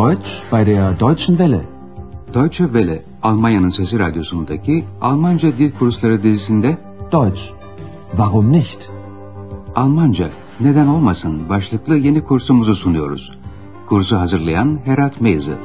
Deutsch bei der Deutschen Welle. Deutsche Welle, Almanya'nın Sesi Radyosu'ndaki Almanca Dil Kursları dizisinde Deutsch. Warum nicht? Almanca, neden olmasın başlıklı yeni kursumuzu sunuyoruz. Kursu hazırlayan Herat Meyze.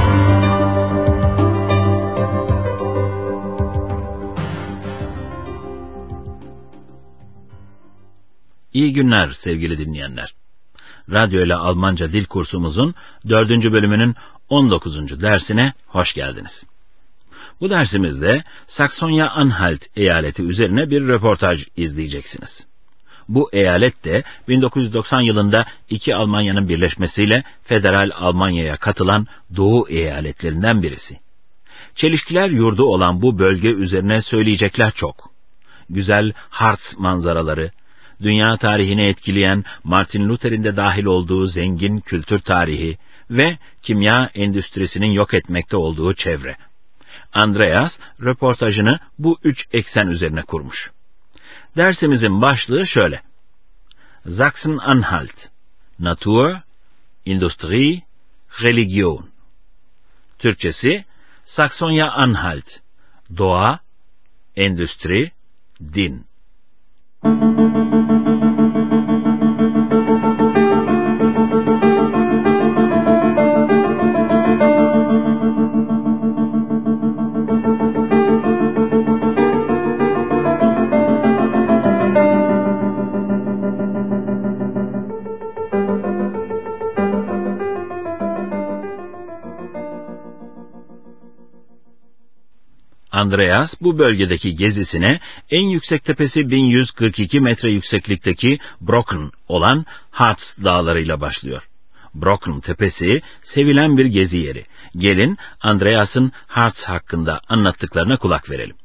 İyi günler sevgili dinleyenler. Radyo ile Almanca dil kursumuzun 4. bölümünün 19. dersine hoş geldiniz. Bu dersimizde Saksonya-Anhalt eyaleti üzerine bir röportaj izleyeceksiniz. Bu eyalet de 1990 yılında iki Almanya'nın birleşmesiyle Federal Almanya'ya katılan Doğu eyaletlerinden birisi. Çelişkiler yurdu olan bu bölge üzerine söyleyecekler çok. Güzel Harz manzaraları, dünya tarihini etkileyen Martin Luther'in de dahil olduğu zengin kültür tarihi ve kimya endüstrisinin yok etmekte olduğu çevre. Andreas röportajını bu üç eksen üzerine kurmuş. Dersimizin başlığı şöyle: Sachsen-Anhalt, Natur, Industrie, Religion. Türkçesi, Saksonya-Anhalt, Doğa, Endüstri, Din. Andreas bu bölgedeki gezisine en yüksek tepesi 1142 metre yükseklikteki Brocken olan Harz dağlarıyla başlıyor. Brocken tepesi sevilen bir gezi yeri. Gelin Andreas'ın Harz hakkında anlattıklarına kulak verelim.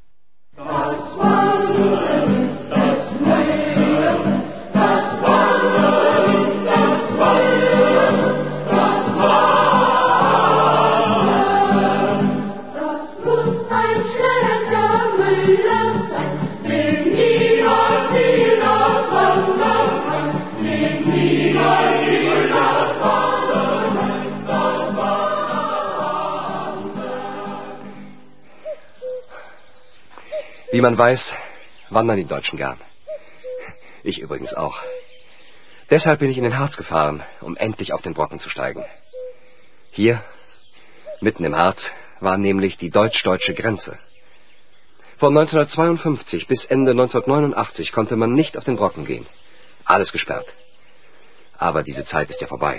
Wie man weiß, wandern die Deutschen gern. Ich übrigens auch. Deshalb bin ich in den Harz gefahren, um endlich auf den Brocken zu steigen. Hier, mitten im Harz, war nämlich die deutsch-deutsche Grenze. Von 1952 bis Ende 1989 konnte man nicht auf den Brocken gehen. Alles gesperrt. Aber diese Zeit ist ja vorbei.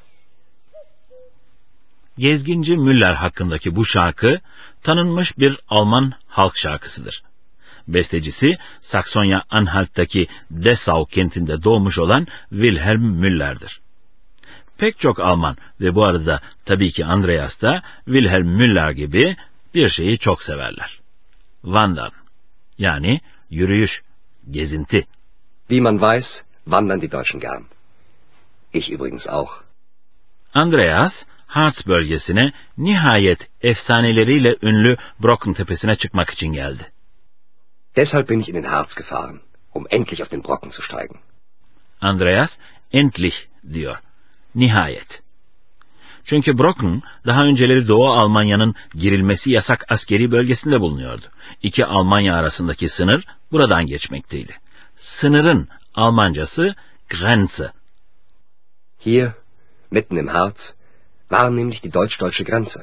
Gezginci Müller hakkındaki bu şarkı tanınmış bir Alman halk şarkısıdır. Bestecisi Saksonya-Anhalt'taki Dessau kentinde doğmuş olan Wilhelm Müller'dir. Pek çok Alman ve bu arada tabii ki Andreas da Wilhelm Müller gibi bir şeyi çok severler. Wandern, yani yürüyüş, gezinti. Wie man weiß, wandern die Deutschen gern. Ich übrigens auch. Andreas, Harz bölgesine nihayet efsaneleriyle ünlü Brocken tepesine çıkmak için geldi. Deshalb bin ich in den Harz gefahren, um endlich auf den Brocken zu steigen. Andreas, endlich diyor, nihayet. Çünkü Brocken, daha önceleri Doğu Almanya'nın girilmesi yasak askeri bölgesinde bulunuyordu. İki Almanya arasındaki sınır buradan geçmekteydi. Sınırın Almancası Grenze. Hier, mitten im Harz, war nämlich die deutsch-deutsche Grenze.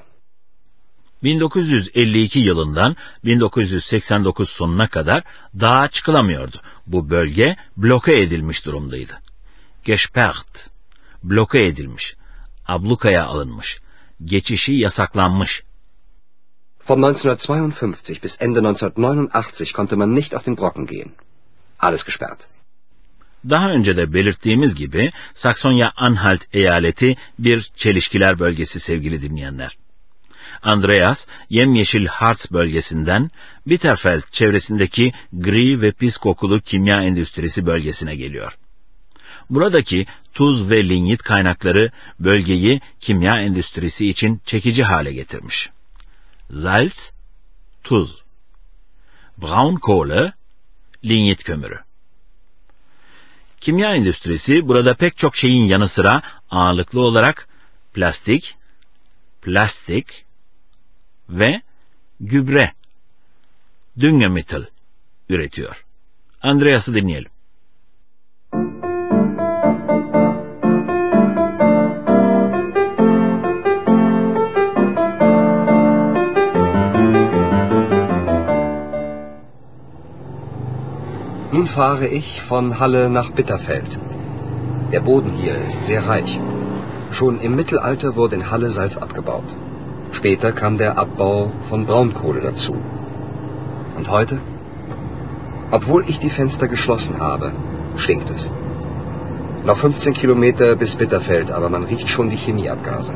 1952 yılından 1989 sonuna kadar dağa çıkılamıyordu. Bu bölge bloke edilmiş durumdaydı. Gesperrt, bloke edilmiş, ablukaya alınmış, geçişi yasaklanmış. Von 1952 bis Ende 1989 konnte man nicht auf den Brocken gehen. Alles gesperrt. Daha önce de belirttiğimiz gibi Saksonya-Anhalt eyaleti bir çelişkiler bölgesi sevgili dinleyenler. Andreas, yemyeşil Harz bölgesinden Bitterfeld çevresindeki gri ve pis kokulu kimya endüstrisi bölgesine geliyor. Buradaki tuz ve linyit kaynakları bölgeyi kimya endüstrisi için çekici hale getirmiş. Salz, tuz. Braunkohle, linyit kömürü. Kimya endüstrisi burada pek çok şeyin yanı sıra ağırlıklı olarak plastik, plastik ve gübre, Düngemittel üretiyor. Andreas'ı dinleyelim. Nun fahre ich von Halle nach Bitterfeld. Der Boden hier ist sehr reich. Schon im Mittelalter wurde in Halle Salz abgebaut. Später kam der Abbau von Braunkohle dazu. Und heute? Obwohl ich die Fenster geschlossen habe, stinkt es. Noch 15 Kilometer bis Bitterfeld, aber man riecht schon die Chemieabgase.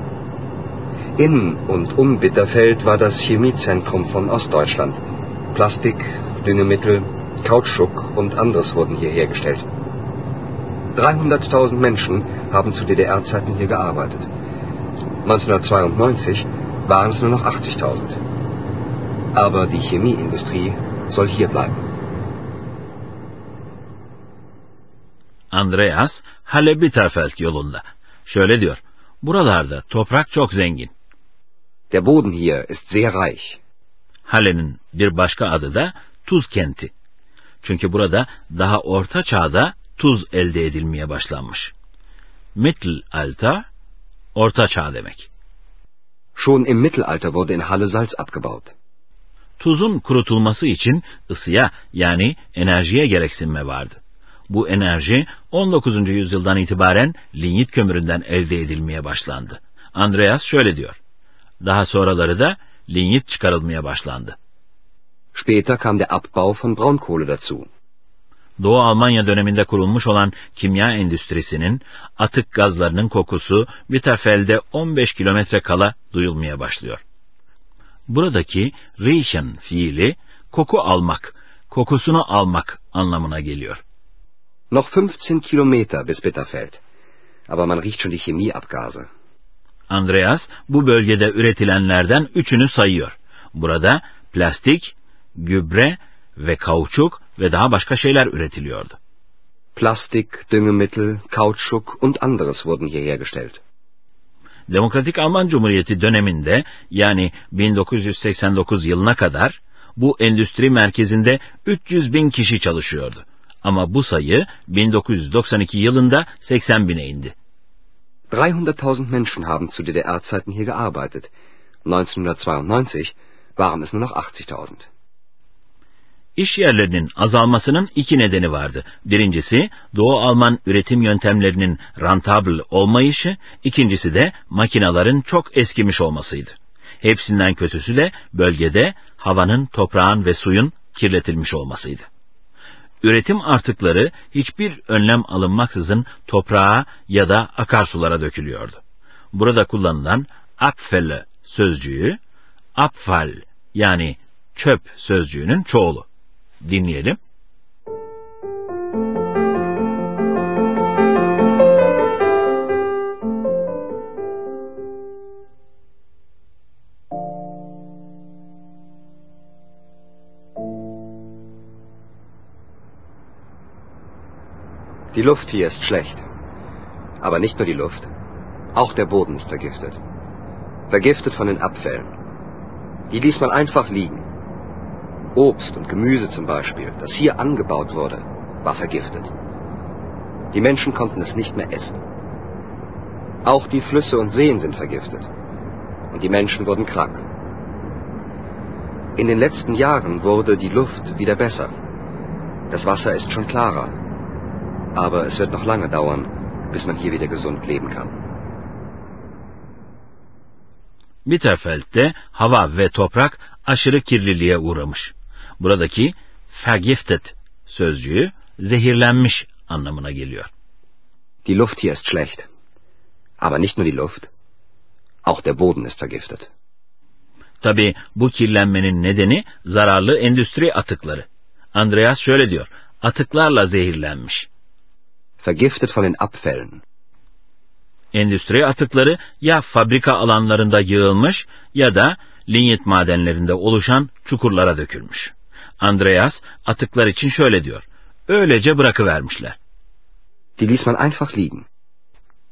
In und um Bitterfeld war das Chemiezentrum von Ostdeutschland. Plastik, Düngemittel, Kautschuk und anderes wurden hier hergestellt. 300.000 Menschen haben zu DDR-Zeiten hier gearbeitet. 1992 waren es nur noch 80.000. Aber die Chemieindustrie soll hier bleiben. Andreas, Halle-Bitterfeld yolunda. Şöyle diyor, buralarda toprak çok zengin. Der Boden hier ist sehr reich. Halle'nin bir başka adı da tuz kenti. Çünkü burada daha orta çağda tuz elde edilmeye başlanmış. Mittelalter, orta çağ demek. Schon im Mittelalter wurde in Halle Salz abgebaut. Tuzun kurutulması için ısıya yani enerjiye gereksinme vardı. Bu enerji 19. yüzyıldan itibaren linyit kömüründen elde edilmeye başlandı. Andreas şöyle diyor. Daha sonraları da linyit çıkarılmaya başlandı. Später kam der Abbau von Braunkohle dazu. Doğu Almanya döneminde kurulmuş olan kimya endüstrisinin atık gazlarının kokusu Bitterfeld'e 15 kilometre kala duyulmaya başlıyor. Buradaki riechen fiili koku almak, kokusunu almak anlamına geliyor. Noch 15 Kilometer bis Bitterfeld. Aber man riecht schon die Chemieabgase. Andreas bu bölgede üretilenlerden üçünü sayıyor. Burada plastik, gübre ve kauçuk ve daha başka şeyler üretiliyordu. Plastik, Düngemittel, Kautschuk und anderes wurden hier hergestellt. Demokratik Alman Cumhuriyeti döneminde yani 1989 yılına kadar bu endüstri merkezinde 300.000 kişi çalışıyordu. Ama bu sayı 1992 yılında 80.000'e indi. 300.000 Menschen haben zu DDR-Zeiten hier gearbeitet. 1992 waren es nur noch 80.000. İş yerlerinin azalmasının iki nedeni vardı. Birincisi Doğu Alman üretim yöntemlerinin rentable olmayışı, ikincisi de makinelerin çok eskimiş olmasıydı. Hepsinden kötüsü de bölgede havanın, toprağın ve suyun kirletilmiş olmasıydı. Üretim artıkları hiçbir önlem alınmaksızın toprağa ya da akarsulara dökülüyordu. Burada kullanılan Abfälle sözcüğü, Abfall yani çöp sözcüğünün çoğulu. Dinleyelim. Die Luft hier ist schlecht. Aber nicht nur die Luft. Auch der Boden ist vergiftet. Vergiftet von den Abfällen. Die ließ man einfach liegen. Obst und Gemüse zum Beispiel, das hier angebaut wurde, war vergiftet. Die Menschen konnten es nicht mehr essen. Auch die Flüsse und Seen sind vergiftet. Und die Menschen wurden krank. In den letzten Jahren wurde die Luft wieder besser. Das Wasser ist schon klarer. Aber es wird noch lange dauern, bis man hier wieder gesund leben kann. Bitterfeld'de hava ve toprak aşırı kirliliğe uğramış. Buradaki vergiftet sözcüğü zehirlenmiş anlamına geliyor. Die Luft hier ist schlecht. Aber nicht nur die Luft. Auch der Boden ist vergiftet. Tabii bu kirlenmenin nedeni zararlı endüstri atıkları. Andreas şöyle diyor, atıklarla zehirlenmiş. Vergiftet von den Abfällen. Endüstri atıkları ya fabrika alanlarında yığılmış ya da linyit madenlerinde oluşan çukurlara dökülmüş. Andreas atıklar için şöyle diyor, öylece bırakıvermişler. Die ließ man einfach liegen.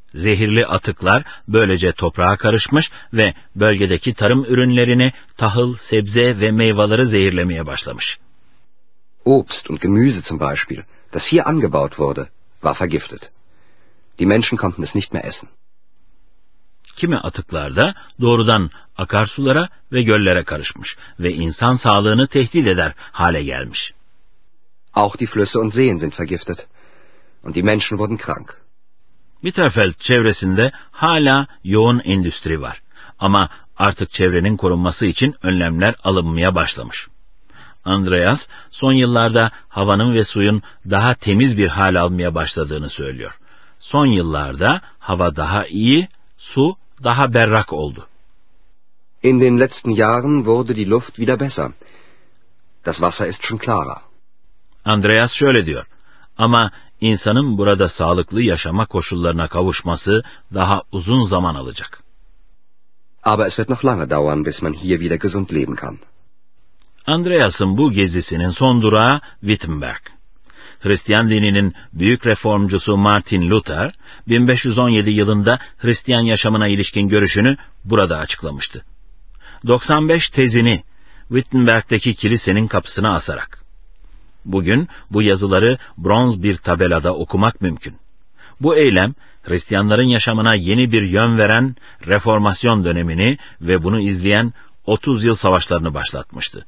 Zehirli atıklar böylece toprağa karışmış ve bölgedeki tarım ürünlerini, tahıl, sebze ve meyveleri zehirlemeye başlamış. Obst und Gemüse zum Beispiel, das hier angebaut wurde, war vergiftet. Die Menschen konnten es nicht mehr essen. Kimi atıklar da doğrudan akarsulara ve göllere karışmış ve insan sağlığını tehdit eder hale gelmiş. Auch die Flüsse und Seen sind vergiftet und die Menschen wurden krank. Bitterfeld çevresinde hala yoğun endüstri var ama artık çevrenin korunması için önlemler alınmaya başlamış. Andreas son yıllarda havanın ve suyun daha temiz bir hal almaya başladığını söylüyor. Son yıllarda hava daha iyi, su daha berrak oldu. In den letzten Jahren wurde die Luft wieder besser. Das Wasser ist schon klarer. Andreas şöyle diyor: ama insanın burada sağlıklı yaşama koşullarına kavuşması daha uzun zaman alacak. Aber es wird noch lange dauern, bis man hier wieder gesund leben kann. Andreas'ın bu gezisinin son durağı Wittenberg. Hristiyan dininin büyük reformcusu Martin Luther, 1517 yılında Hristiyan yaşamına ilişkin görüşünü burada açıklamıştı. 95 tezini Wittenberg'deki kilisenin kapısına asarak. Bugün bu yazıları bronz bir tabelada okumak mümkün. Bu eylem, Hristiyanların yaşamına yeni bir yön veren reformasyon dönemini ve bunu izleyen 30 yıl savaşlarını başlatmıştı.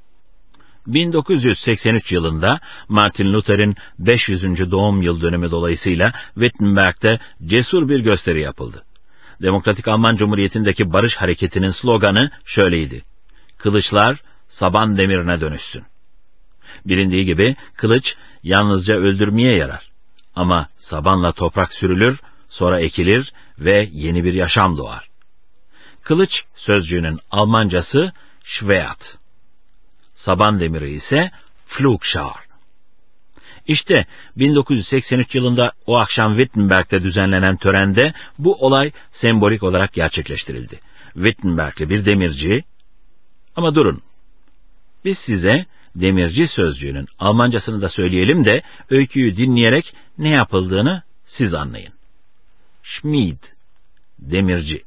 1983 yılında Martin Luther'in 500. doğum yıl dönümü dolayısıyla Wittenberg'de cesur bir gösteri yapıldı. Demokratik Alman Cumhuriyeti'ndeki barış hareketinin sloganı şöyleydi: Kılıçlar saban demirine dönüşsün. Bilindiği gibi kılıç yalnızca öldürmeye yarar. Ama sabanla toprak sürülür, sonra ekilir ve yeni bir yaşam doğar. Kılıç sözcüğünün Almancası Schwert. Saban demiri ise Pflugschar. İşte 1983 yılında o akşam Wittenberg'de düzenlenen törende bu olay sembolik olarak gerçekleştirildi. Wittenberg'li bir demirci, ama durun, biz size demirci sözcüğünün Almancasını da söyleyelim de öyküyü dinleyerek ne yapıldığını siz anlayın. Schmied, demirci.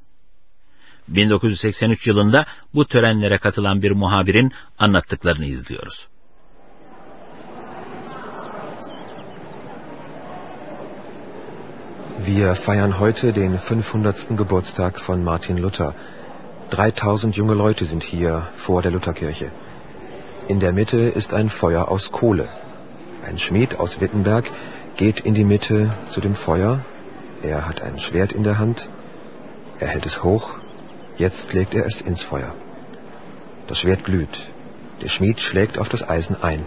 1983 yılında bu törenlere katılan bir muhabirin anlattıklarını izliyoruz. Wir feiern heute den 500. Geburtstag von Martin Luther. 3000 junge Leute sind hier vor der Lutherkirche. In der Mitte ist ein Feuer aus Kohle. Ein Schmied aus Wittenberg geht in die Mitte zu dem Feuer. Er hat ein Schwert in der Hand. Er hält es hoch. Jetzt legt er es ins Feuer. Das Schwert glüht. Der Schmied schlägt auf das Eisen ein.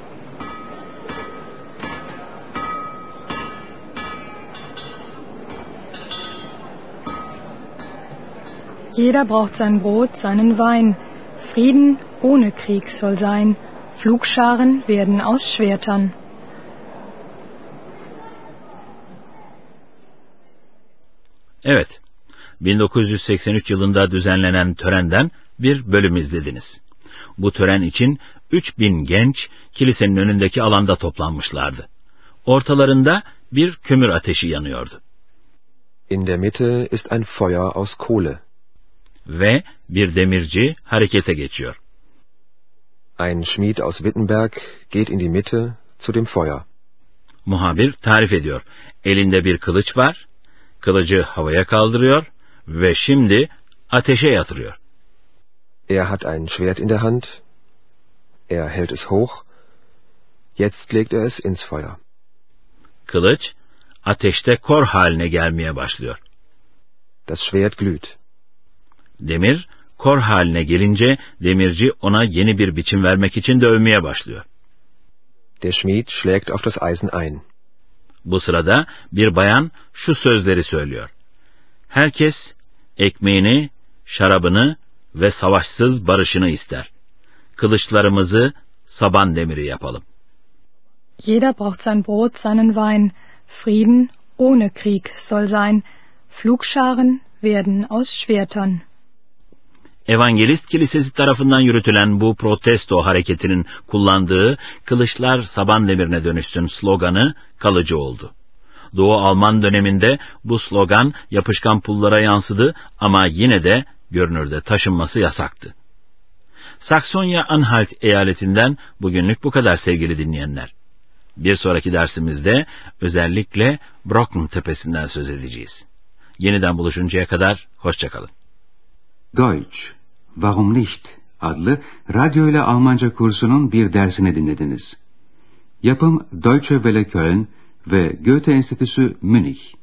Jeder braucht sein Brot, seinen Wein. Frieden ohne Krieg soll sein. Pflugscharen werden aus Schwertern. Evet, 1983 yılında düzenlenen törenden bir bölüm izlediniz. Bu tören için 3000 genç kilisenin önündeki alanda toplanmışlardı. Ortalarında bir kömür ateşi yanıyordu. In der Mitte ist ein Feuer aus Kohle. Ve bir demirci harekete geçiyor. Ein Schmied aus Wittenberg geht in die Mitte zu dem Feuer. Muhabir tarif ediyor. Elinde bir kılıç var, kılıcı havaya kaldırıyor ve şimdi ateşe yatırıyor. Er hat ein Schwert in der Hand. Er hält es hoch. Jetzt legt er es ins Feuer. Kılıç ateşte kor haline gelmeye başlıyor. Das Schwert glüht. Demir kor haline gelince demirci ona yeni bir biçim vermek için dövmeye başlıyor. Der Schmied schlägt auf das Eisen ein. Bu sırada bir bayan şu sözleri söylüyor. Herkes ekmeğini, şarabını ve savaşsız barışını ister. Kılıçlarımızı saban demiri yapalım. Jeder braucht sein Brot, seinen Wein. Frieden ohne Krieg soll sein. Pflugscharen werden aus Schwertern. Evangelist Kilisesi tarafından yürütülen bu protesto hareketinin kullandığı kılıçlar saban demirine dönüşsün sloganı kalıcı oldu. Doğu Alman döneminde bu slogan yapışkan pullara yansıdı ama yine de görünürde taşınması yasaktı. Saksonya-Anhalt eyaletinden bugünlük bu kadar sevgili dinleyenler. Bir sonraki dersimizde özellikle Brocken tepesinden söz edeceğiz. Yeniden buluşuncaya kadar hoşça kalın. Deutsch, Warum nicht adlı radyo ile Almanca kursunun bir dersini dinlediniz. Yapım Deutsche Welle Köln ve Goethe Enstitüsü Münih.